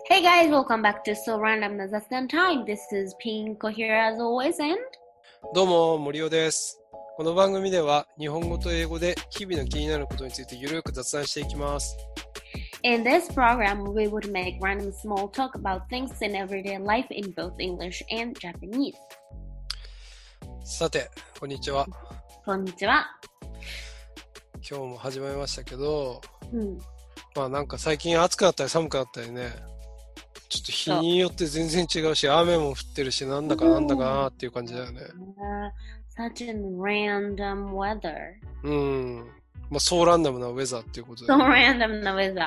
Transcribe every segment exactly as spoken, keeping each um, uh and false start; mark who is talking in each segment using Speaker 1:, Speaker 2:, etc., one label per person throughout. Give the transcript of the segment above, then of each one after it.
Speaker 1: Hey guys, welcome back to So Random な雑談 Time. This is Pinko here as always and
Speaker 2: どうも、森尾です。この番組では日本語と英語で日々の気になることについてゆるく雑談していきます。
Speaker 1: in this program we would make random small talk about things in everyday life in both English and Japanese.
Speaker 2: さて、こんにちは。
Speaker 1: こんにちは。
Speaker 2: 今日も始まりましたけど、
Speaker 1: うん、
Speaker 2: まあなんか最近暑くなったり寒くなったりね、ちょっと日によって全然違うし、雨も降ってるし、なんだかなんだかなっていう感じだよね。
Speaker 1: Uh, such a random weather.
Speaker 2: うん。まあそうランダムなウェザーっていうこと
Speaker 1: で、ね。So random な weather.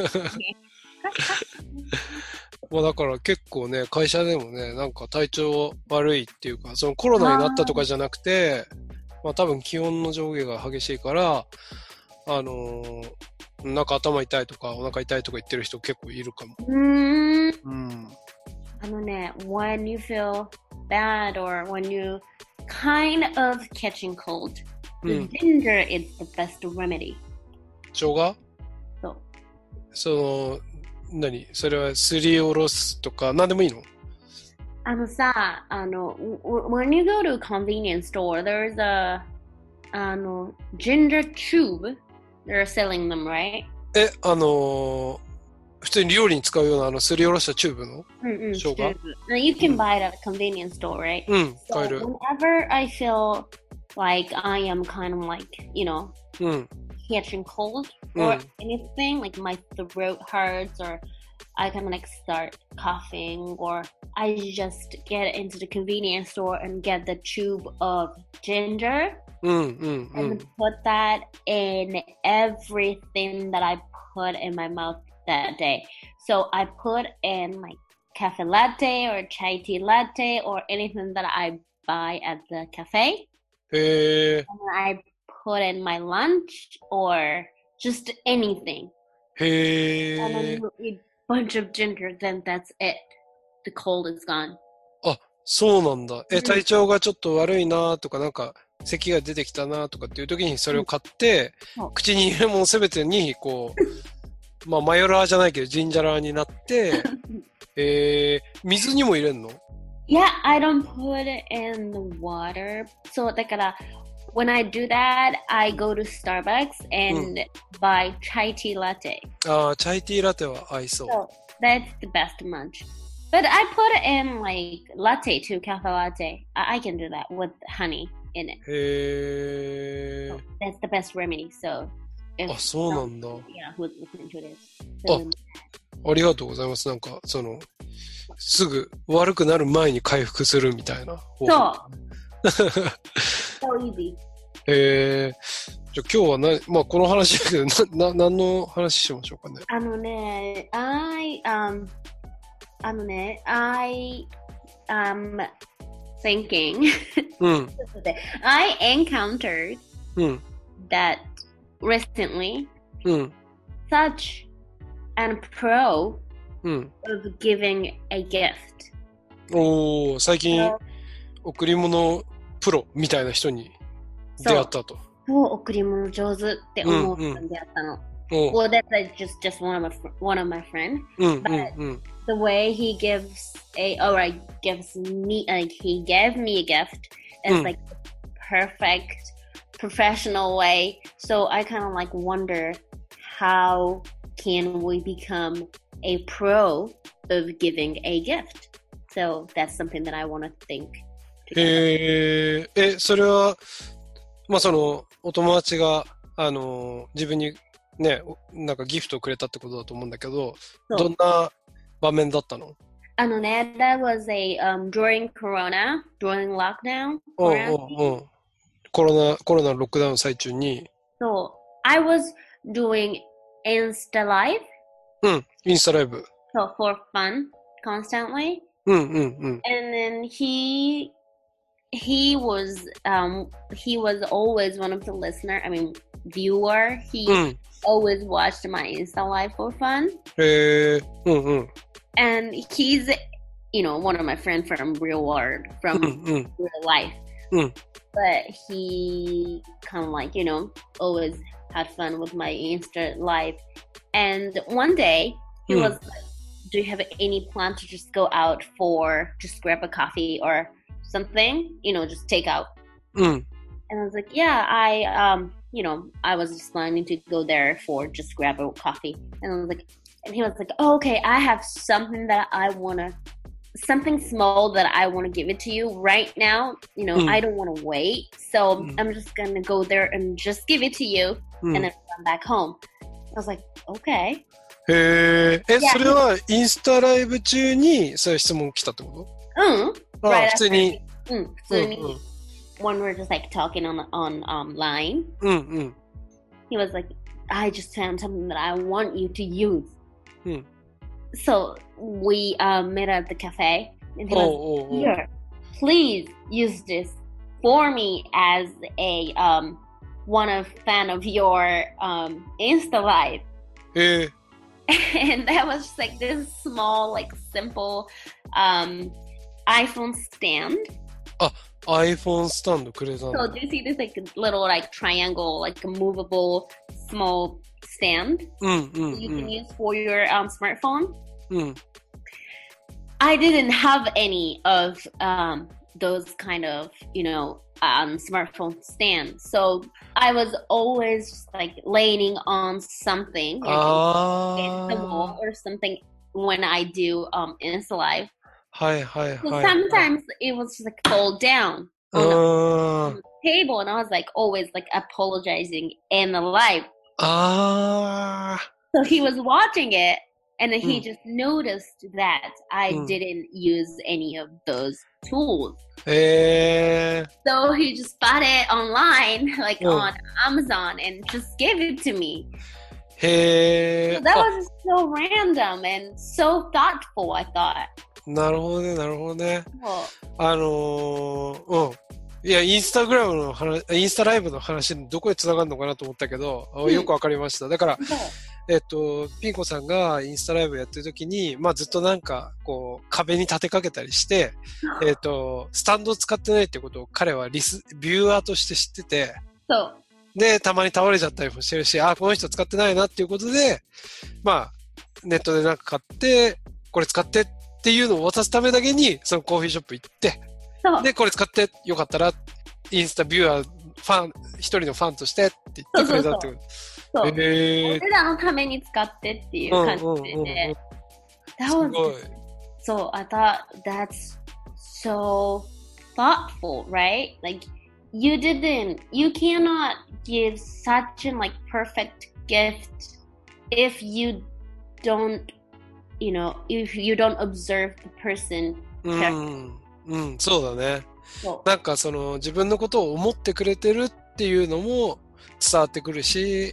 Speaker 2: まあだから結構ね、会社でもね、なんか体調悪いっていうか、そのコロナになったとかじゃなくて、まあ多分気温の上下が激しいから、あのー、なんか頭痛いとかお腹痛いとか言ってる人結構いるかも。
Speaker 1: うーん。
Speaker 2: うん。
Speaker 1: あのね、when you feel bad or when you kind of catching cold, the ginger is the best remedy.
Speaker 2: 生姜？
Speaker 1: そう。
Speaker 2: その、何？それはすりおろすとか、なんでもいいの？
Speaker 1: あのさ、あの、when you go to a convenience store, there's a あの ginger tube. They're selling them, right?
Speaker 2: え、あのー、普通に料理に使うようなあのすりおろしたチューブの
Speaker 1: うんうん、
Speaker 2: 生姜？
Speaker 1: Now you can buy it at a convenience store, right?
Speaker 2: うん、買える。
Speaker 1: So whenever I feel like I am kind of like, you know,
Speaker 2: うん、
Speaker 1: catching cold
Speaker 2: うん、
Speaker 1: or anything, like my throat hurts or I kind of like start coughing or I just get into the convenience store and get the tube of ginger
Speaker 2: うんうんうん、
Speaker 1: and put that in everything that I put in my mouth that day. So I put in like cafe latte or chai tea latte or anything that I buy at the cafe.
Speaker 2: へー。
Speaker 1: And I put in my lunch or just anything.
Speaker 2: へ
Speaker 1: And then
Speaker 2: ー。
Speaker 1: you eat a bunch of ginger, then that's it. The cold is gone.
Speaker 2: あ、そうなんだ。え、
Speaker 1: うん
Speaker 2: 体調がちょっと悪いなとか、なんか咳が出てきたなとかっていう時にそれを買って、
Speaker 1: うん
Speaker 2: 口に入れるものすべてにこうまあマヨラーじゃないけどジンジャラーになってえー、水にも入れんの？
Speaker 1: Yeah, I don't put it in the water. So だから when I do that, I go to Starbucks and buy chai tea latte.
Speaker 2: ああ、チャイティーラテは合いそう。
Speaker 1: So that's the best munch. But I put it in like latte too, cafe latte. I, I can do that with honey in it.
Speaker 2: へ
Speaker 1: So
Speaker 2: ー。
Speaker 1: that's the best remedy. So if
Speaker 2: あ、そうなんだ。
Speaker 1: yeah, who's listening to this?
Speaker 2: あ、ありがとうございます。なんかそのすぐ悪くなる前に回復するみたいな方法。
Speaker 1: そう。So easy.
Speaker 2: へえ。じゃあ今日はな、まあこの話だけど、な、な、何の話しましょうかね。
Speaker 1: あのね、I, um, あのね、I, um, thinking,
Speaker 2: うん。
Speaker 1: I encountered
Speaker 2: うん。
Speaker 1: that recently
Speaker 2: うん。
Speaker 1: such an pro
Speaker 2: うん。
Speaker 1: of giving a gift.
Speaker 2: おー、最近
Speaker 1: So
Speaker 2: 贈り物プロみたいな人に出会ったと。
Speaker 1: そう、贈り物上手って思う人に出会ったの。
Speaker 2: おー。
Speaker 1: Well, that's like just, just one of my, fr- one of my friends.
Speaker 2: うんうん
Speaker 1: But
Speaker 2: うん。
Speaker 1: the way he gives a, or like gives me, like he gave me a gift is
Speaker 2: Mm.
Speaker 1: like the perfect professional way. So I kind of like wonder how can we become a pro of giving a gift? So that's something that I want to think. together.
Speaker 2: へえ。え、それは、まあその、お友達が、あのー、自分にね、なんかギフトをくれたってことだと思うんだけど、
Speaker 1: そう
Speaker 2: どんな場面だったの？
Speaker 1: あのね、that was a, um, during Corona, during lockdown.
Speaker 2: うん
Speaker 1: quarantine.
Speaker 2: うんうん。コロナ、コロナのロックダウン最中に、
Speaker 1: So I was doing Insta Live,
Speaker 2: うん、インスタライブ。
Speaker 1: so for fun, constantly.
Speaker 2: うんうんうん。
Speaker 1: And then he he was um he was always one of the listener. I mean viewer. He
Speaker 2: うん。
Speaker 1: always watched my Insta Live for fun.
Speaker 2: へえ。うんうん。
Speaker 1: And he's you know one of my friends from real world,
Speaker 2: うん
Speaker 1: from
Speaker 2: うん。
Speaker 1: real life.
Speaker 2: うん。
Speaker 1: But he kind of like, you know, always had fun with my Insta Live. And one day he
Speaker 2: Mm.
Speaker 1: was like do you have any plan to just go out for just grab a coffee or something, you know, just take out?
Speaker 2: うん。
Speaker 1: And I was like, yeah, I, um, you know, I was just planning to go there for just grab a coffee. And I was like, and he was like, oh, okay, I have something that I want to, something small that I want to give it to you right now. You know,
Speaker 2: Mm.
Speaker 1: I don't want to wait. So
Speaker 2: Mm.
Speaker 1: I'm just going to go there and just give it to you
Speaker 2: うん。
Speaker 1: and then come back home. I was like, okay.
Speaker 2: へえ。え、
Speaker 1: いや
Speaker 2: それはインスタライブ中にそういう質問来たってこ
Speaker 1: うん。
Speaker 2: と？あ、
Speaker 1: Right
Speaker 2: 普通に。
Speaker 1: after- うん、普通に、
Speaker 2: うんうん
Speaker 1: when we're just like talking on, on um, line,
Speaker 2: うんうん。
Speaker 1: he was like, I just found something that I want you to use.
Speaker 2: うん。
Speaker 1: So we um, met at the cafe, and he
Speaker 2: おう
Speaker 1: was
Speaker 2: おうおう。
Speaker 1: here. Please use this for me as a um, one of fan of your um, Insta Live.
Speaker 2: へえ。
Speaker 1: And that was just like this small, like simple um, iPhone stand.
Speaker 2: iPhone スタンドくれたん
Speaker 1: So
Speaker 2: だ。
Speaker 1: do you see this like little like triangle, like a movable small stand
Speaker 2: うんうんう
Speaker 1: you can
Speaker 2: ん。
Speaker 1: use for your um, smartphone?
Speaker 2: うん。
Speaker 1: I didn't have any of um, those kind of, you know, um, smartphone stands. So I was always just like leaning on something, like against the
Speaker 2: あ
Speaker 1: wall
Speaker 2: あ。
Speaker 1: or something when I do um, Insta Live.
Speaker 2: はいはいはい。
Speaker 1: So sometimes it was just like fall down
Speaker 2: う
Speaker 1: on
Speaker 2: ー
Speaker 1: the
Speaker 2: ん。
Speaker 1: table, and I was like always like apologizing in the live.
Speaker 2: ああ。
Speaker 1: So he was watching it, and then he
Speaker 2: Mm.
Speaker 1: just noticed that I
Speaker 2: Mm.
Speaker 1: didn't use any of those tools.
Speaker 2: へえ。
Speaker 1: So he just bought it online, like
Speaker 2: Mm.
Speaker 1: on Amazon, and just gave it to me.
Speaker 2: へ
Speaker 1: So
Speaker 2: え。
Speaker 1: that
Speaker 2: あ、
Speaker 1: was just so random and so thoughtful, I thought.
Speaker 2: なるほどね、なるほどね。
Speaker 1: Well,
Speaker 2: あのー、うん。いや、インスタグラムの話、インスタライブの話、どこへ繋がるのかなと思ったけど、あ
Speaker 1: うん
Speaker 2: よくわかりました。だから、
Speaker 1: so,
Speaker 2: えっと、ピンコさんがインスタライブやってる時に、まあずっとなんか、こう、壁に立てかけたりして、えっと、スタンドを使ってないってことを彼はリス、ビューアーとして知ってて、
Speaker 1: so
Speaker 2: で、たまに倒れちゃったりもしてるし、あ、この人使ってないなっていうことで、まあ、ネットでなんか買って、これ使ってっていうのを渡すためだけに、そのコーヒーショップ行って、
Speaker 1: so
Speaker 2: で、これ使ってよかったら、インスタビューアー、ファン、一人のファンとしてって言ってくれたってこと。
Speaker 1: so
Speaker 2: へえ。
Speaker 1: 俺らのために使ってっていう感じで、
Speaker 2: うんうんうんうん
Speaker 1: That
Speaker 2: す
Speaker 1: was
Speaker 2: ごい。
Speaker 1: so I thought that's so thoughtful, right? Like you didn't, you cannot give such an like perfect gift if you don't, you know, if you don't observe the person
Speaker 2: う
Speaker 1: carefully.
Speaker 2: ん。うん、そうだね。
Speaker 1: So,
Speaker 2: なんかその自分のことを思ってくれてるっていうのも伝わってくるし、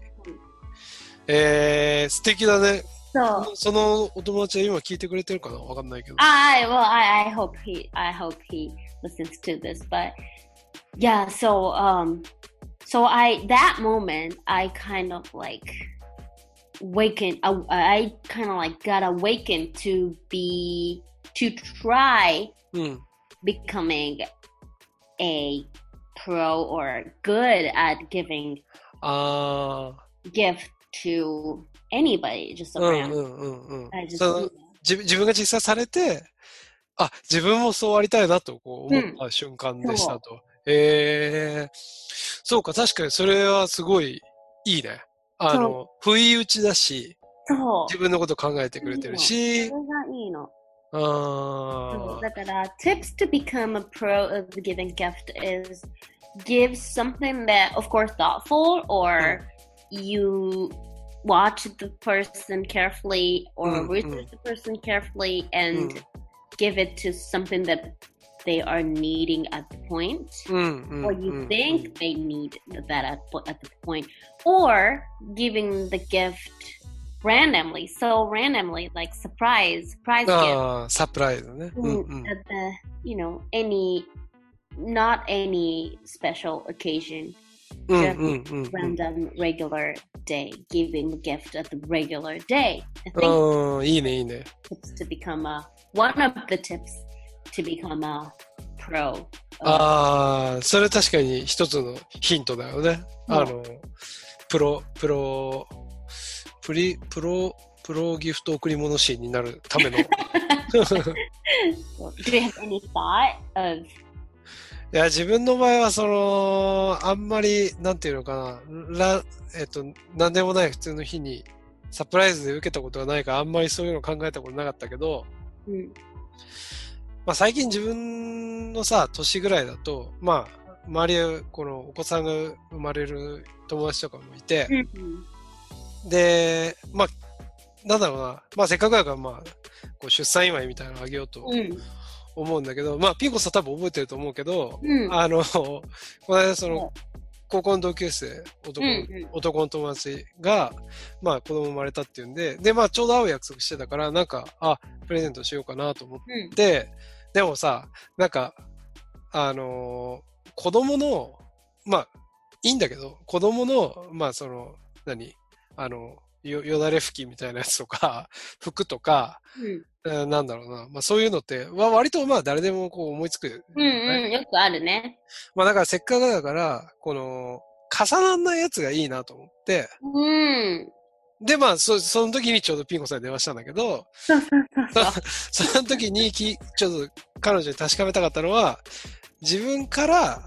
Speaker 2: えー、素敵だね。
Speaker 1: so
Speaker 2: そのお友達は今聞いてくれてるかなわかんないけど。
Speaker 1: I well, I, I hope he, I hope he listens to this, but yeah. So um, so I that moment I kind of like awakened. I, I kind of like got awakened to be to try
Speaker 2: うん。
Speaker 1: becoming a pro or good at giving
Speaker 2: あ
Speaker 1: gift to anybody, just
Speaker 2: あ。
Speaker 1: a
Speaker 2: うん
Speaker 1: random.
Speaker 2: うんうんうん。
Speaker 1: I just
Speaker 2: その自自分が実際されて、あ、自分もそうありたいなとこう思った瞬間でしたと。えー、そうか、確かにそれはすごいいいね。あの、不意打ちだし、
Speaker 1: そう
Speaker 2: 自分のこと考えてくれてるし、
Speaker 1: それがいいの。
Speaker 2: あ
Speaker 1: そう
Speaker 2: ー、
Speaker 1: だから tips to become a pro of giving gift is give something that of course thoughtful or you watch the person carefully or
Speaker 2: Mm,
Speaker 1: research the person carefully and
Speaker 2: Mm.
Speaker 1: give it to something that they are needing at the point
Speaker 2: うんうん
Speaker 1: or
Speaker 2: う
Speaker 1: you
Speaker 2: ん
Speaker 1: think they need that at, at the point or giving the gift randomly so randomly like surprise surprise gift
Speaker 2: ああ、サプライズね。うん
Speaker 1: Mm,
Speaker 2: うん
Speaker 1: at the you know any not any special occasion
Speaker 2: うん
Speaker 1: just
Speaker 2: うんうんうん。
Speaker 1: random regular day giving a gift at the regular day I think
Speaker 2: ああ、いいねいいね。
Speaker 1: tips to become a one of the tips to become a pro of-
Speaker 2: ああ、それ確かに一つのヒントだよね。
Speaker 1: そう
Speaker 2: あの、プロ、プロ、プリ、プロ、 プロギフト贈り物シーンになるための。い
Speaker 1: Do you have any thought of?
Speaker 2: や、自分の場合は、その、あんまり、なんていうのかな、らえっと、なんでもない普通の日に、サプライズで受けたことがないから、あんまりそういうの考えたことなかったけど、
Speaker 1: うん、
Speaker 2: まあ最近自分のさ、年ぐらいだと、まあ、周りは、このお子さんが生まれる友達とかもいて、
Speaker 1: うん、
Speaker 2: で、まあ、なんだろうな、まあせっかくだから、まあ、こう出産祝いみたいなのあげようと思うんだけど、まあ、ピンコさん多分覚えてると思うけど、
Speaker 1: うん、
Speaker 2: あの、この間その、高校の同級生、男、
Speaker 1: うんうん、
Speaker 2: 男の友達が、まあ子供生まれたっていうんで、で、まあちょうど会う約束してたから、なんか、あ、プレゼントしようかなと思って、でもさ、なんか、あのー子供の、まあ、いいんだけど、子供の、まあその、何あの、よ、よだれ拭きみたいなやつとか、服とか、
Speaker 1: うん、
Speaker 2: えーなんだろうな。まあそういうのって、わ割とまあ誰でもこう思いつく。
Speaker 1: うんうん、よくあるね。
Speaker 2: まあだからせっかくだから、この、重ならないやつがいいなと思って、
Speaker 1: うん。
Speaker 2: でまあそ、その時にちょうどピンコさんに電話したんだけど、
Speaker 1: そうそうそうそう。
Speaker 2: その時にき、ちょっと彼女に確かめたかったのは、自分から、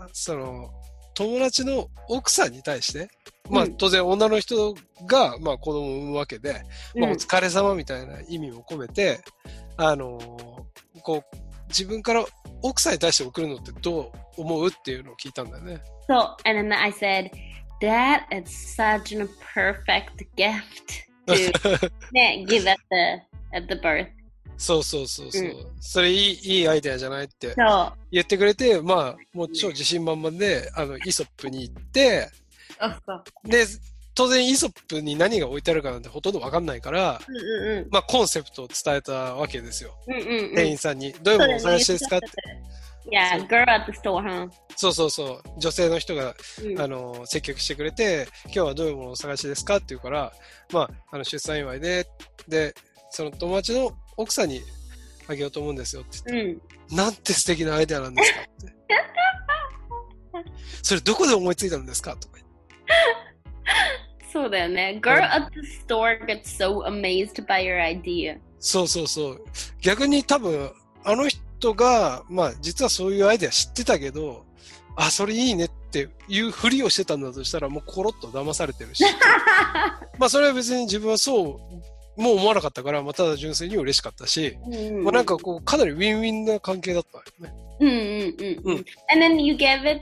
Speaker 2: その、友達の奥さんに対して、まあ
Speaker 1: うん
Speaker 2: 当然女の人が、まあ子供を産むわけで、まあお
Speaker 1: うん
Speaker 2: 疲れ様みたいな意味も込めて、あのーこう、自分から奥さんに対して送るのってどう思うっていうのを聞いたんだよね。
Speaker 1: So, and then I said, that is such a perfect gift to ね、give at the, at the birth.
Speaker 2: そうそうそうそう。
Speaker 1: うん
Speaker 2: それいい、いいアイデアじゃないって
Speaker 1: そう。
Speaker 2: 言ってくれて、まあ、もう超自信満々で、あの、イソップに行って、
Speaker 1: そうそう。
Speaker 2: で、当然イソップに何が置いてあるかなんてほとんどわかんないから、
Speaker 1: うんうんうん。
Speaker 2: まあコンセプトを伝えたわけですよ。
Speaker 1: うんうんうん。
Speaker 2: 店員さんに。どういうものをお探しですかって。
Speaker 1: いや、girl at the store, huh?
Speaker 2: そうそうそう。女性の人が、
Speaker 1: うん
Speaker 2: あの、接客してくれて、今日はどういうものをお探しですかって言うから、まあ、あの、出産祝いで、で、その友達の奥さんにあげようと思うんですよって言って、
Speaker 1: うん。
Speaker 2: なんて素敵なアイデアなんですかって。それどこで思いついたんですかとか言って。
Speaker 1: そうだよね。Girl at the store gets so amazed by your idea.
Speaker 2: そうそうそう。逆に多分、あの人が、まあ実はそういうアイデア知ってたけど、あ、それいいねっていうふりをしてたんだとしたら、もうコロッと騙されてるし。まあそれは別に自分はそう、もう思わなかったから、まあただ純粋に嬉しかったし、
Speaker 1: うん
Speaker 2: まあなんかこう、かなりウィンウィンな関係だったよね。
Speaker 1: うんうんうんうん。And then you give it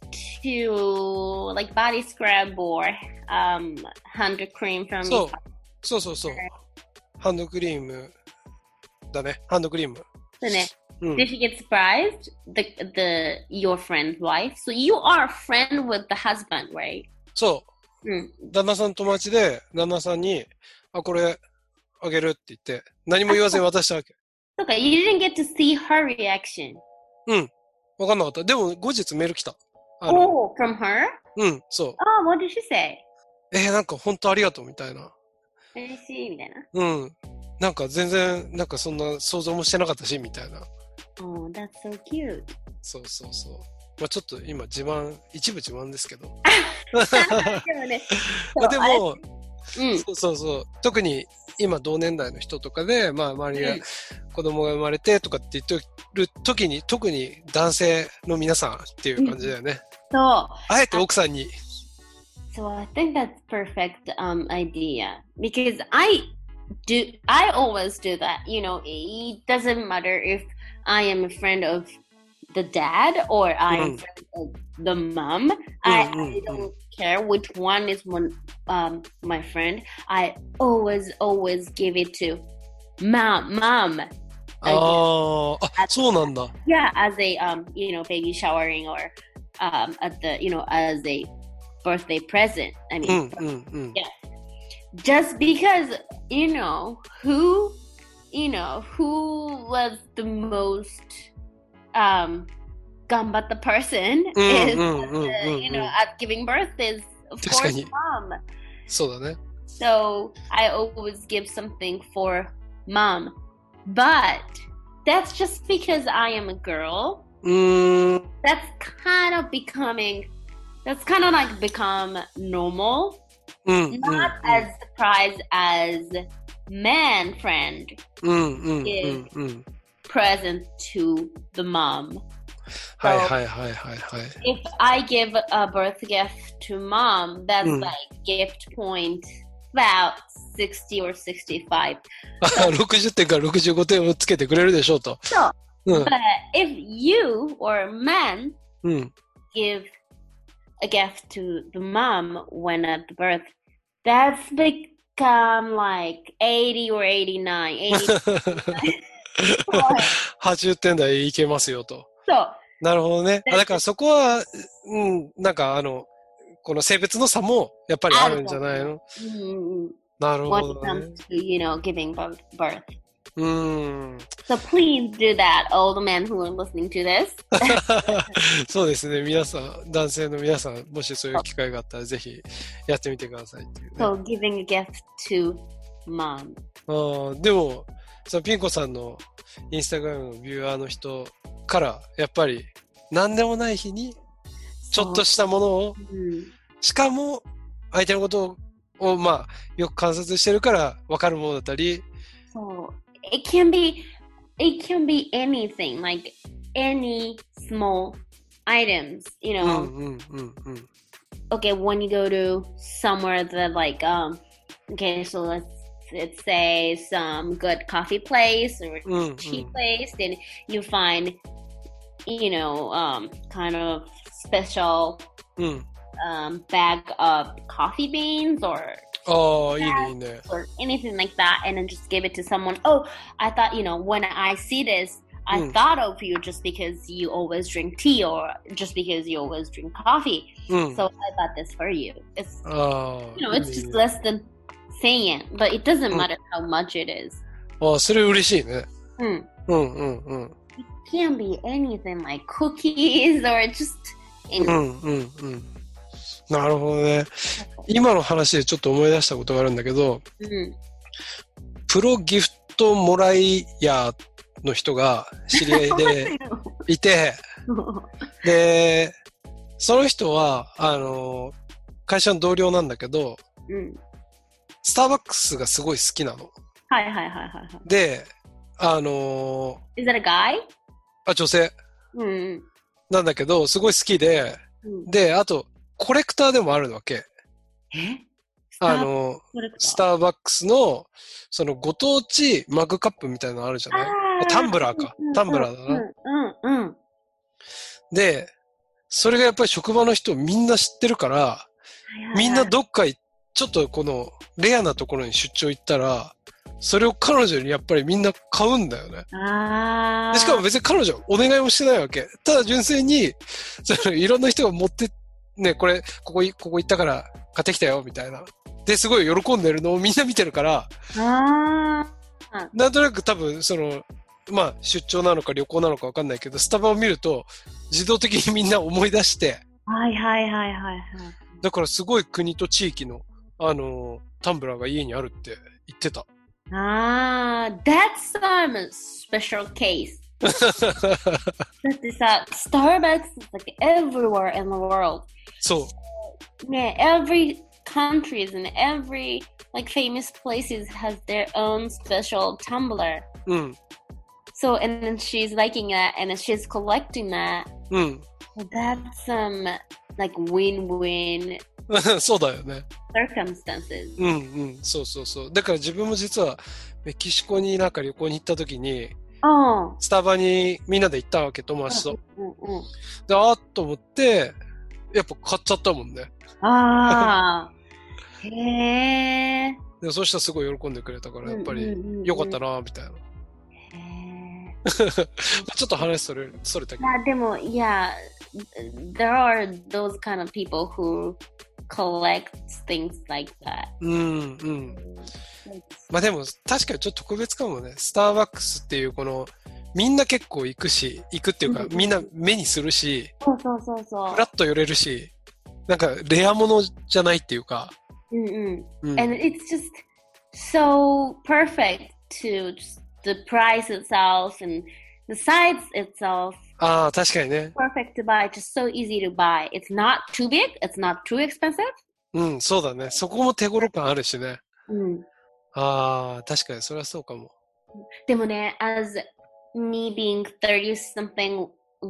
Speaker 1: to like body scrub or um hand cream from
Speaker 2: そう。そうそうそう。ハンドクリームだね。ハンドクリーム。
Speaker 1: そうね。
Speaker 2: うん、
Speaker 1: Did she get surprised? The the your friend's wife. So you are a friend with the husband, right?
Speaker 2: そう。
Speaker 1: うん。
Speaker 2: 旦那さん友達で、旦那さんに、あ、これあげるって言って、何も言わずに渡したわけ。
Speaker 1: そうか、you didn't get to see her reaction.
Speaker 2: うん。わかんなかった。でも後日メール来た。あの
Speaker 1: Oh, from her?
Speaker 2: うん、そう。
Speaker 1: Oh, what did she say?
Speaker 2: えー、なんか本当ありがとうみたいな。
Speaker 1: 嬉しいみたいな。
Speaker 2: うん。なんか全然、なんかそんな想像もしてなかったし、みたいな。
Speaker 1: Oh, that's so cute.
Speaker 2: そうそうそう。まあちょっと今自慢、一部自慢ですけど。
Speaker 1: でもね、
Speaker 2: まあでも、
Speaker 1: うん、
Speaker 2: そうそうそう。特に今同年代の人とかで、まあ周りが
Speaker 1: うん
Speaker 2: 子供が生まれてとかって言ってる時に、特に男性の皆さんっていう感じだよね。
Speaker 1: そう。
Speaker 2: あえて奥さんに。
Speaker 1: So I think that's perfect um idea because I do I always do that. You know, it doesn't matter if I am a friend of the dad or I am a friend of the mom. I, I don't care which one is one um my friend. I always always give it to mom mom.
Speaker 2: ああ、あ、そうなんだ。
Speaker 1: Yeah, as a um you know baby showering or um at the you know as a birthday present. I mean,
Speaker 2: うんうんうん。
Speaker 1: yeah. Just because you know who, you know who was the most um, 頑張った person is, you know, at giving birth is of course mom.
Speaker 2: そうだね。
Speaker 1: So I always give something for mom, but that's just because I am a girl.
Speaker 2: うーん。
Speaker 1: That's kind of becoming. That's kind of like become normal.
Speaker 2: うん、
Speaker 1: Not as surprised as man friend
Speaker 2: うんうんうん
Speaker 1: give
Speaker 2: うん。
Speaker 1: present to the mom.
Speaker 2: はい
Speaker 1: So
Speaker 2: はいはいはいはい。
Speaker 1: if I give a birth gift to mom, that's
Speaker 2: うん。
Speaker 1: like gift point about sixty or sixty-five.
Speaker 2: あ、ろくじゅってんからろくじゅうごてんをつけてくれるでしょうと。
Speaker 1: So,
Speaker 2: うん
Speaker 1: but if you or men
Speaker 2: うん。
Speaker 1: give a gift to the mom when at the birth, that's become like eighty or eighty-nine. eighty.
Speaker 2: はちじゅってん台いけますよと。
Speaker 1: So,
Speaker 2: なるほどね。あ、
Speaker 1: that's
Speaker 2: だからそこは、うん、なんかあの、この性別の差もやっぱりあるんじゃないの？
Speaker 1: mm,
Speaker 2: なる
Speaker 1: when
Speaker 2: ほ
Speaker 1: it
Speaker 2: どね。
Speaker 1: comes to, you know, giving birth. birth.
Speaker 2: うーん。
Speaker 1: So please do that, all the men who are listening to this.
Speaker 2: そうですね。皆さん、男性の皆さん、もしそういう機会があったらぜひやってみてくださいっていうね。
Speaker 1: So giving a gift to mom.
Speaker 2: あーでも、そのピン子さんのインスタグラムのビューアーの人からやっぱり何でもない日にちょっとしたものを、
Speaker 1: Mm.
Speaker 2: しかも相手のことをまあよく観察してるから分かるものだったり、
Speaker 1: So it can be it can be anything, like any small items, you
Speaker 2: うん
Speaker 1: know.
Speaker 2: うんうんうん
Speaker 1: Okay, when you go to somewhere that like um okay, so let's let's say some good coffee place or
Speaker 2: うんうん
Speaker 1: tea place, then you find, you know, um kind of special
Speaker 2: うん。
Speaker 1: um bag of coffee beans or
Speaker 2: ああ、いいねいいね。
Speaker 1: or anything like that, and then just give it to someone. Oh, I thought, you know, when I see this, I
Speaker 2: Mm.
Speaker 1: thought of you just because you always drink tea or just because you always drink coffee.
Speaker 2: うん。
Speaker 1: So I bought this for you. It's,
Speaker 2: ああ、
Speaker 1: you know,
Speaker 2: いい
Speaker 1: it's
Speaker 2: ねいい
Speaker 1: just
Speaker 2: ね。
Speaker 1: less than saying it, but it doesn't
Speaker 2: Mm.
Speaker 1: matter how much it is.
Speaker 2: ああ、それ嬉しいね。
Speaker 1: Mm.
Speaker 2: うんうんうん。
Speaker 1: It can be anything like cookies or just
Speaker 2: う
Speaker 1: anything.
Speaker 2: んうんうん。なるほどね。今の話でちょっと思い出したことがあるんだけど、
Speaker 1: Mm.
Speaker 2: プロギフトもらい屋の人が知り合いでいて、で、その人は、あの、会社の同僚なんだけど、
Speaker 1: Mm.
Speaker 2: スターバックスがすごい好きなの。
Speaker 1: Hi, hi, hi, hi, hi.
Speaker 2: で、あの、
Speaker 1: Is that a guy?
Speaker 2: あ、女性
Speaker 1: Mm.
Speaker 2: なんだけど、すごい好きで、
Speaker 1: Mm.
Speaker 2: で、あと、コレクターでもあるわけ。
Speaker 1: Eh?
Speaker 2: あの、スターバックスの、そのご当地マグカップみたいなのあるじゃない？タンブラーか。タンブラーだな。
Speaker 1: うんうんうん。
Speaker 2: で、それがやっぱり職場の人みんな知ってるから、みんなどっかいちょっとこのレアなところに出張行ったら、それを彼女にやっぱりみんな買うんだよね。
Speaker 1: あ
Speaker 2: でしかも別に彼女はお願いもしてないわけ。ただ純粋に、そのいろんな人が持って、ね、これ、ここい、ここ行ったから買ってきたよ、みたいな。で、すごい喜んでるのをみんな見てるから、
Speaker 1: あ
Speaker 2: なんとなく多分、その、まあ、出張なのか旅行なのかわかんないけど、スタバを見ると、自動的にみんな思い出して、
Speaker 1: はいはいはいはいはい。
Speaker 2: だからすごい国と地域の、あの、タンブラーが家にあるって言ってた。
Speaker 1: ああ、that's some special case. だってさ、Starbucks is like everywhere in the world.
Speaker 2: そう。
Speaker 1: ね、every countries and every like famous places has their own special tumbler.
Speaker 2: うん。
Speaker 1: So and then she's liking that and then she's collecting that.
Speaker 2: うん。
Speaker 1: That's some like win-win
Speaker 2: そうだよね。
Speaker 1: circumstances.
Speaker 2: うんうん。そうそうそう。だから自分も実はメキシコになんか旅行に行った時に、
Speaker 1: Oh.
Speaker 2: スタバにみんなで行ったわけ、友達と。
Speaker 1: うんうん。
Speaker 2: で、あーっと思って、やっぱ買っちゃったもんね。
Speaker 1: ああ。へえ。
Speaker 2: で、そしたらすごい喜んでくれたから、やっぱり良かったなみたいな。
Speaker 1: へえ。
Speaker 2: ちょっと話それ、それたけど。
Speaker 1: まあでも、いや、there are those kind of people who collect things like that.
Speaker 2: うんうん。まあでも確かにちょっと特別かもね。スターバックスっていうこの、みんな結構行くし、行くっていうか、みんな目にするし、
Speaker 1: そうそうそうそう。
Speaker 2: フラッと寄れるし、なんかレアものじゃないっていうか。
Speaker 1: うんうん。
Speaker 2: うん、
Speaker 1: And it's just so perfect to just the price itself and the size itself.
Speaker 2: ああ、確かにね。
Speaker 1: Perfect to buy, just so easy to buy. It's not too big, it's not too expensive.
Speaker 2: うん、そうだね。そこも手頃感あるしね。
Speaker 1: うん。
Speaker 2: ああ、確かにそれはそうかも。
Speaker 1: でもね、as me being thirty something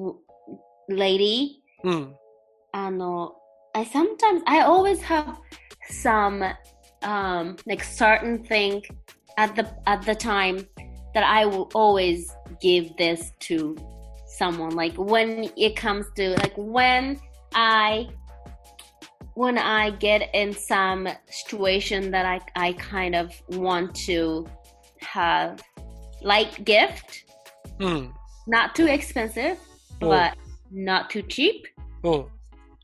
Speaker 1: lady,
Speaker 2: うん。
Speaker 1: あの、I sometimes, I always have some, um, like certain thing at the, at the time that I will always give this to someone. Like when it comes to, like when I, when I get in some situation that I, I kind of want to have light gift,
Speaker 2: うん。
Speaker 1: not too expensive,
Speaker 2: おう。
Speaker 1: but not too cheap,
Speaker 2: うん。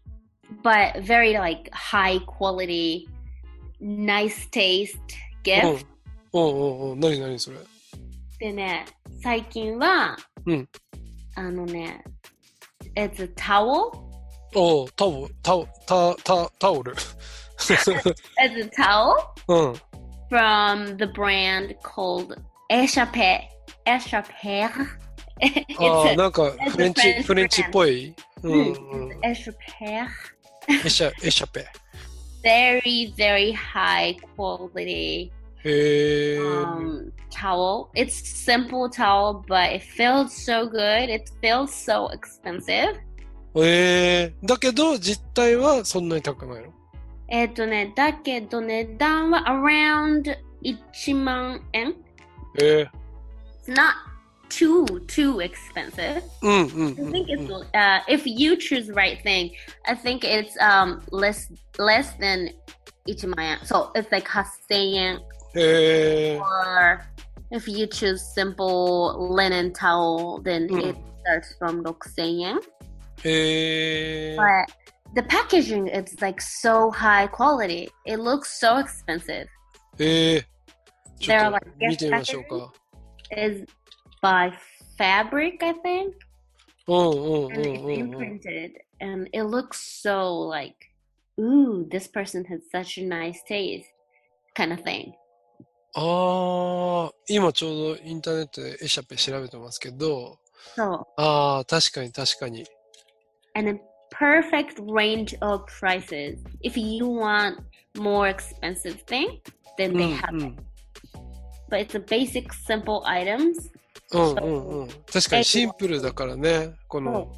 Speaker 1: but very like high quality, nice taste
Speaker 2: うん。
Speaker 1: gift.
Speaker 2: おうおうおう、なになにそれ。
Speaker 1: でね、最近は、
Speaker 2: うん。
Speaker 1: あのね、it's a towel.
Speaker 2: おう、タオル、タオ、タ、タ、タオル。
Speaker 1: It's a towel
Speaker 2: うん。
Speaker 1: from the brand called Échappé. Échappé.
Speaker 2: ああ、
Speaker 1: It's a,
Speaker 2: なんか
Speaker 1: it's
Speaker 2: フレ
Speaker 1: a
Speaker 2: ンチ、
Speaker 1: French
Speaker 2: フレンチっ
Speaker 1: brand.
Speaker 2: ぽい。うん
Speaker 1: Mm,
Speaker 2: うん。
Speaker 1: it's Échappé.
Speaker 2: エシャ、エシャペ。
Speaker 1: Very, very high quality
Speaker 2: へえ。
Speaker 1: um towel. It's simple towel, but it feels so good. It feels so expensive.
Speaker 2: ええ。だけど、実態はそんなに高くないの？
Speaker 1: えっとね、だけど値段は around いちまん円。
Speaker 2: ええ。
Speaker 1: It's not too, too expensive.
Speaker 2: うんうんう
Speaker 1: I
Speaker 2: ん
Speaker 1: think
Speaker 2: う
Speaker 1: it's,
Speaker 2: ん。
Speaker 1: uh, if you choose the right thing, I think it's um less, less than いちまん円. So it's likeはっせんえん.
Speaker 2: へえ。
Speaker 1: Or if you choose simple linen towel, then
Speaker 2: うん。
Speaker 1: it starts from ろくせんえん.
Speaker 2: へえ。
Speaker 1: But the packaging is like so high quality. It looks so expensive.
Speaker 2: ええ。ちょ
Speaker 1: They're
Speaker 2: っ
Speaker 1: like
Speaker 2: と見
Speaker 1: gift
Speaker 2: てみましょう
Speaker 1: packaging
Speaker 2: か。
Speaker 1: is by fabric, I think,
Speaker 2: うんうんう
Speaker 1: and
Speaker 2: ん
Speaker 1: it's
Speaker 2: うんうん。
Speaker 1: imprinted, and it looks so like, ooh, this person has such a nice taste, kind of thing.
Speaker 2: ああ、今ちょうどインターネットでエシャペ調べてますけど、
Speaker 1: So,
Speaker 2: ああ、確かに確かに。
Speaker 1: and a perfect range of prices. If you want more expensive thing,
Speaker 2: う
Speaker 1: then
Speaker 2: ん
Speaker 1: they have
Speaker 2: う
Speaker 1: it.
Speaker 2: ん。
Speaker 1: But it's a basic, simple items.
Speaker 2: うんうんうん。確かにシンプルだからね、こ
Speaker 1: So
Speaker 2: の、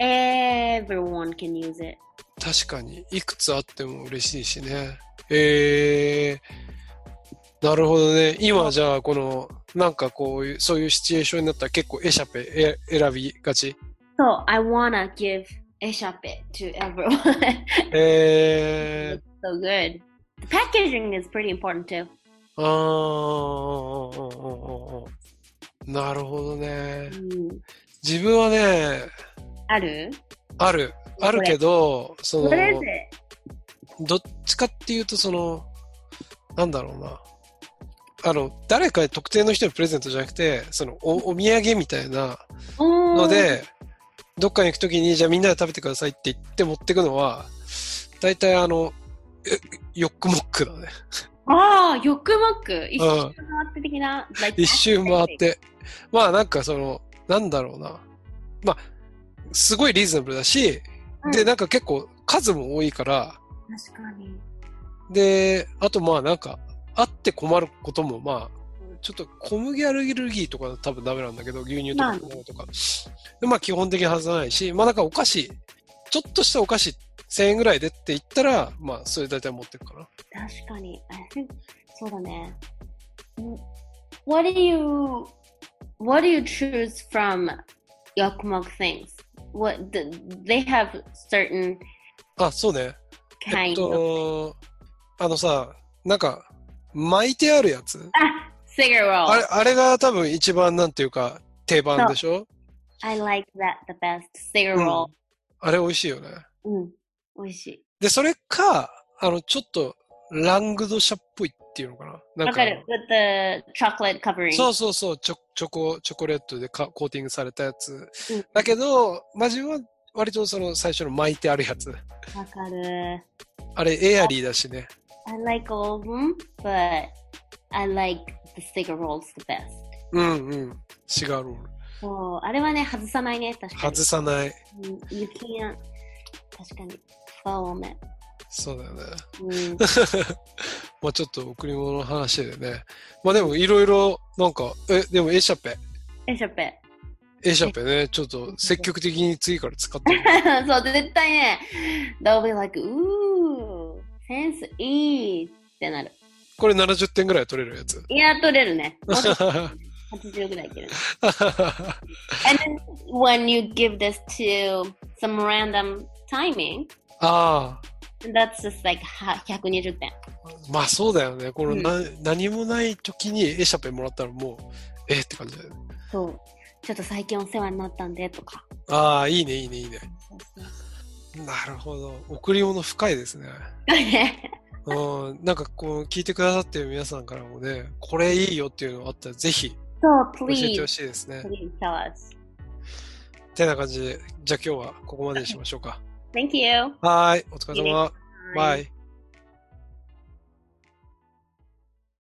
Speaker 1: everyone can use it.
Speaker 2: 確かにいくつあっても嬉しいしね。えー、なるほどね。今じゃあこの、なんかこういう、そういうシチュエーションになったら結構エシャペえ選びがち。
Speaker 1: So I wanna give Échappé to everyone.
Speaker 2: え
Speaker 1: It's so good. The packaging is pretty important too.
Speaker 2: ー、あー、あー、あー、あー、あー、なるほどね。
Speaker 1: うん
Speaker 2: 自分はね、
Speaker 1: ある
Speaker 2: ある。あるけど、そ
Speaker 1: What is
Speaker 2: の、
Speaker 1: it?
Speaker 2: どっちかっていうとその、なんだろうな。あの、誰か特定の人にプレゼントじゃなくて、そのお、お土産みたいなので、どっかに行くときに、じゃあみんなで食べてくださいって言って持ってくのは、大体あの、えヨックモックだね。
Speaker 1: ああ、ヨックモック。一
Speaker 2: うん
Speaker 1: 周回って的な。like
Speaker 2: 一周回っ。て。まあなんかその、なんだろうな。まあ、すごいリーズナブルだし、
Speaker 1: うん
Speaker 2: で、なんか結構数も多いから、
Speaker 1: 確かに。で、
Speaker 2: で、あとまあなんか、あって困ることもまあ、ちょっと小麦アレルギーとか多分ダメなんだけど、牛乳とか卵とか。でまあ基本的に外さないし、まあなんかお菓子、ちょっとしたお菓子せんえんぐらいでって言ったら、まあそれ大体持ってるかな。
Speaker 1: 確かに。I think そうだね。What do you What do you choose from Yokkmok things? What the, they have certain
Speaker 2: あ、そうね。えっ
Speaker 1: kind of
Speaker 2: と、あのさ、なんか、巻いてあるやつ
Speaker 1: あ、cigar
Speaker 2: あれ、
Speaker 1: roll.
Speaker 2: あれが多分一番なんていうか、定番でしょ？
Speaker 1: I like that the best. Cigar
Speaker 2: うん
Speaker 1: roll.
Speaker 2: あれ美味しいよね。
Speaker 1: うん。美味しい。
Speaker 2: で、それか、あの、ちょっと、ラングドシャっぽいっていうのかな。なんか
Speaker 1: わかる。with the chocolate covering.
Speaker 2: そうそうそう、チョチョコ、チョコレートでかコーティングされたやつ。
Speaker 1: うん
Speaker 2: だけど、マジは割とその最初の巻いてあるやつ。
Speaker 1: わかる。
Speaker 2: あれ、エアリーだしね。
Speaker 1: I like all of them, but I like the cigar rolls the best.
Speaker 2: うんうん。シガーロール。
Speaker 1: そう、あれはね、外さないね、確かに。
Speaker 2: 外さない。
Speaker 1: うん、You can't. 確かに。ファーメン。
Speaker 2: そうだよね。
Speaker 1: うん。
Speaker 2: まあちょっと贈り物の話でね。まあでもいろいろ、なんか、え、でもエシャペ。
Speaker 1: エシャペ。
Speaker 2: エシャペね、ちょっと積極的に次から使ってみる。
Speaker 1: そう、絶対ね、they'll be like, うー、センスいいってなる。
Speaker 2: これななじゅってんぐらい取れるやつ。
Speaker 1: いや、取れるね。もうちょっとはちじゅうぐらいいけるね。And then when you give this to some random timing,
Speaker 2: ああ。
Speaker 1: that's just like ひゃくにじゅってん。
Speaker 2: まあそうだよね。このな、
Speaker 1: う
Speaker 2: 何もない時にエシャペもらったらもう、えって感じだよね。
Speaker 1: そう。ちょっと最近お世話になったんでとか。
Speaker 2: ああ、いいね、いいね、いいね。
Speaker 1: そうそう
Speaker 2: なるほど。贈り物深いですね。うん、なんかこう、聞いてくださってる皆さんからもね、これいいよっていうのがあったら、ぜひ
Speaker 1: そう、
Speaker 2: 教えて
Speaker 1: please,
Speaker 2: ほしいですね。
Speaker 1: please tell us.
Speaker 2: てな感じで、じゃあ今日はここまでにしましょうか。
Speaker 1: Thank you.
Speaker 2: はーい、お疲れ様。バイ。